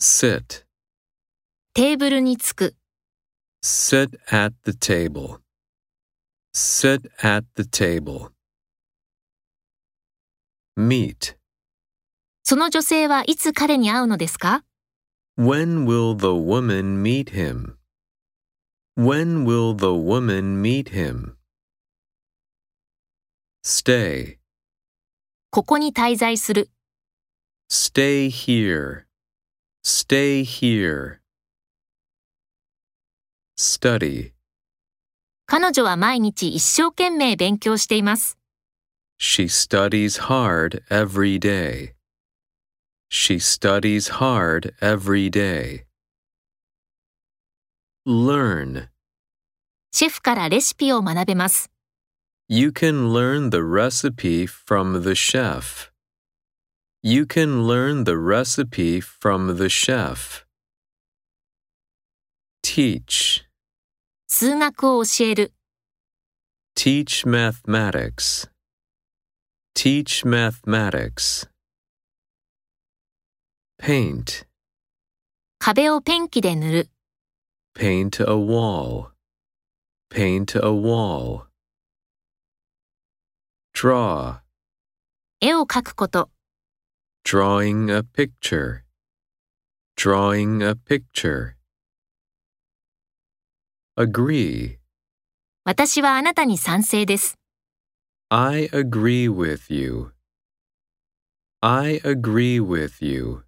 sit, テーブルにつく、 sit at the table, sit at the table. Meet, その女性はいつ彼に会うのですか？ when will the woman meet him? When will the woman meet him? Stay, ここに滞在する、 stay here, stay here. Study, 彼女は毎日一生懸命勉強しています。 she studies hard every day. She studies hard every day. Learn, シェフからレシピを学べます。 you can learn the recipe from the chef. You can learn the recipe from the chef. Teach, 数学を教える、 teach mathematics. Teach mathematics. Paint, 壁をペンキで塗る、 paint a wall. Paint a wall. Draw, 絵を描くこと、 drawing a picture. Drawing a picture. Agree, 私はあなたに賛成です。 I agree with you. I agree with you.